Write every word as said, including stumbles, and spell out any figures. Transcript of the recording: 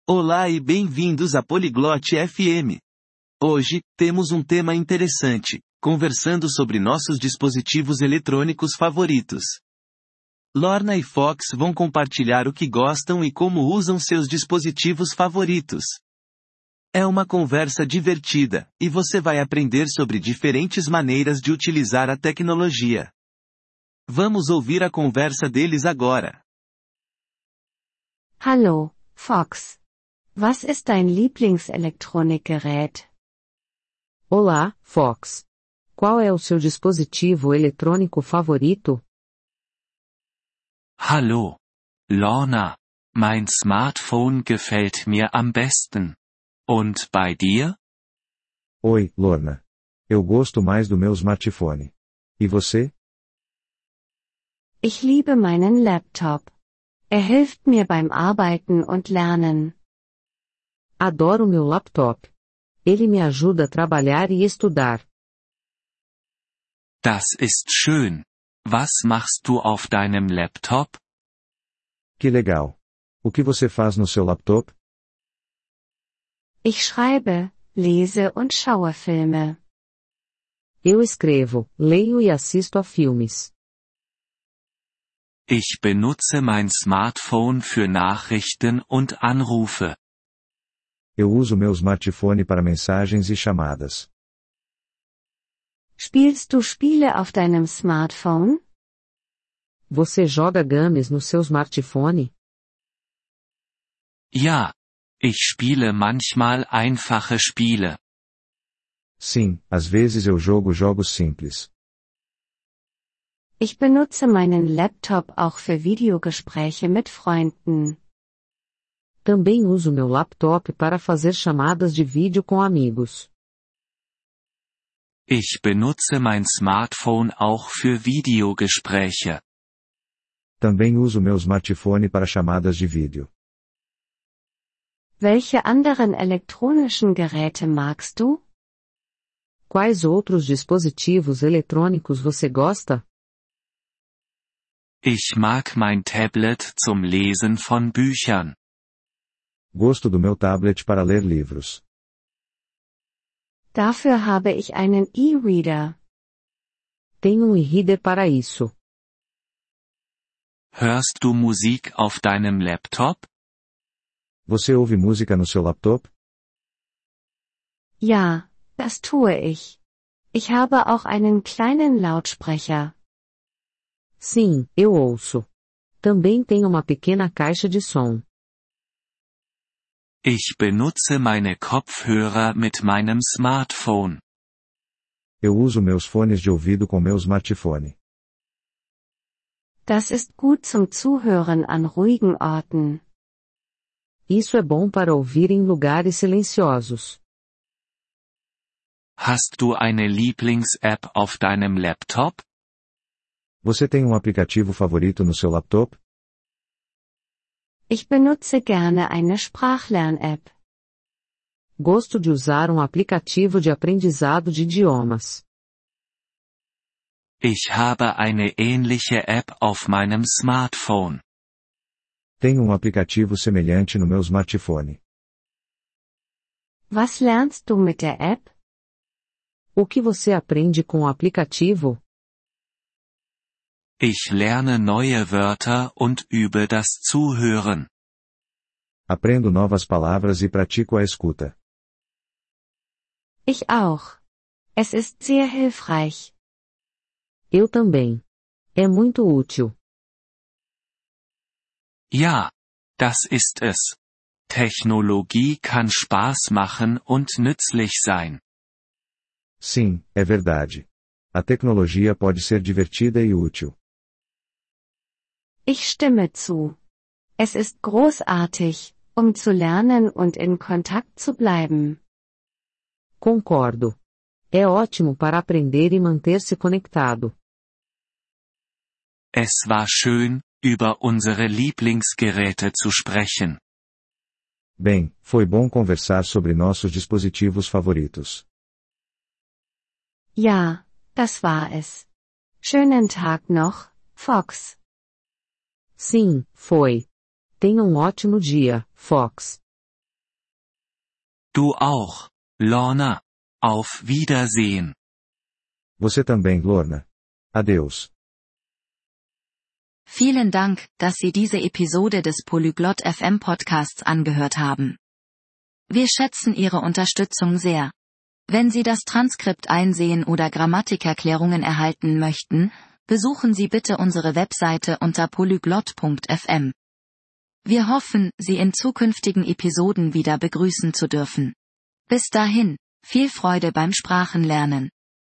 Olá e bem-vindos à Poliglote F M. Hoje, temos um tema interessante, conversando sobre nossos dispositivos eletrônicos favoritos. Lorna e Fox vão compartilhar o que gostam e como usam seus dispositivos favoritos. É uma conversa divertida, e você vai aprender sobre diferentes maneiras de utilizar a tecnologia. Vamos ouvir a conversa deles agora. Hallo, Fox. Was ist dein Lieblingselektronikgerät? Olá, Fox. Qual é o seu dispositivo eletrônico favorito? Hallo, Lorna. Mein Smartphone gefällt mir am besten. Und bei dir? Oi, Lorna. Eu gosto mais do meu smartphone. E você? Ich liebe meinen Laptop. Er hilft mir beim Arbeiten und Lernen. Adoro meu laptop. Ele me ajuda a trabalhar e estudar. Das ist schön. Was machst du auf deinem Laptop? Que legal. O que você faz no seu laptop? Ich schreibe, lese und schaue Filme. Eu escrevo, leio e assisto a filmes. Ich benutze mein Smartphone für Nachrichten und Anrufe. Eu uso meu smartphone para mensagens e chamadas. Spielst du Spiele auf deinem Smartphone? Você joga games no seu smartphone? Ja. Ich spiele manchmal einfache Spiele. Sim, às vezes eu jogo jogos simples. Ich benutze meinen Laptop auch für Videogespräche mit Freunden. Também uso meu laptop para fazer chamadas de vídeo com amigos. Ich benutze mein Smartphone auch für Videogespräche. Também uso meu smartphone para chamadas de vídeo. Welche anderen elektronischen Geräte magst du? Quais outros dispositivos eletrônicos você gosta? Ich mag mein Tablet zum Lesen von Büchern. Gosto do meu tablet para ler livros. Dafür habe ich einen E-Reader. Tenho um e-reader para isso. Hörst du Musik auf deinem Laptop? Você ouve música no seu laptop? Ja, das tue ich. Ich habe auch einen kleinen Lautsprecher. Sim, eu ouço. Também tenho uma pequena caixa de som. Ich benutze meine Kopfhörer mit meinem Smartphone. Eu uso meus fones de ouvido com meu smartphone. Das ist gut zum Zuhören an ruhigen Orten. Isso é bom para ouvir em lugares silenciosos. Hast du eine Lieblings-App auf deinem Laptop? Você tem um aplicativo favorito no seu laptop? Ich benutze gerne eine Sprachlern-App. Gosto de usar um aplicativo de aprendizado de idiomas. Ich habe eine ähnliche App auf meinem Smartphone. Tenho um aplicativo semelhante no meu smartphone. Was lernst du mit der App? O que você aprende com o aplicativo? Ich lerne neue Wörter und übe das Zuhören. Aprendo novas palavras e pratico a escuta. Ich auch. Es ist sehr hilfreich. Eu também. É muito útil. Ja, das ist es. Technologie kann Spaß machen und nützlich sein. Sim, é verdade. A tecnologia pode ser divertida e útil. Ich stimme zu. Es ist großartig, um zu lernen und in Kontakt zu bleiben. Concordo. É ótimo para aprender e manter-se conectado. Es war schön, über unsere Lieblingsgeräte zu sprechen. Bem, foi bom conversar sobre nossos dispositivos favoritos. Ja, das war es. Schönen Tag noch, Fox. Sim, foi. Tenha um ótimo dia, Fox. Du auch, Lorna. Auf Wiedersehen. Você também, Lorna. Adeus. Vielen Dank, dass Sie diese Episode des Polyglot F M Podcasts angehört haben. Wir schätzen Ihre Unterstützung sehr. Wenn Sie das Transkript einsehen oder Grammatikerklärungen erhalten möchten, besuchen Sie bitte unsere Webseite unter polyglot punkt f m. Wir hoffen, Sie in zukünftigen Episoden wieder begrüßen zu dürfen. Bis dahin, viel Freude beim Sprachenlernen.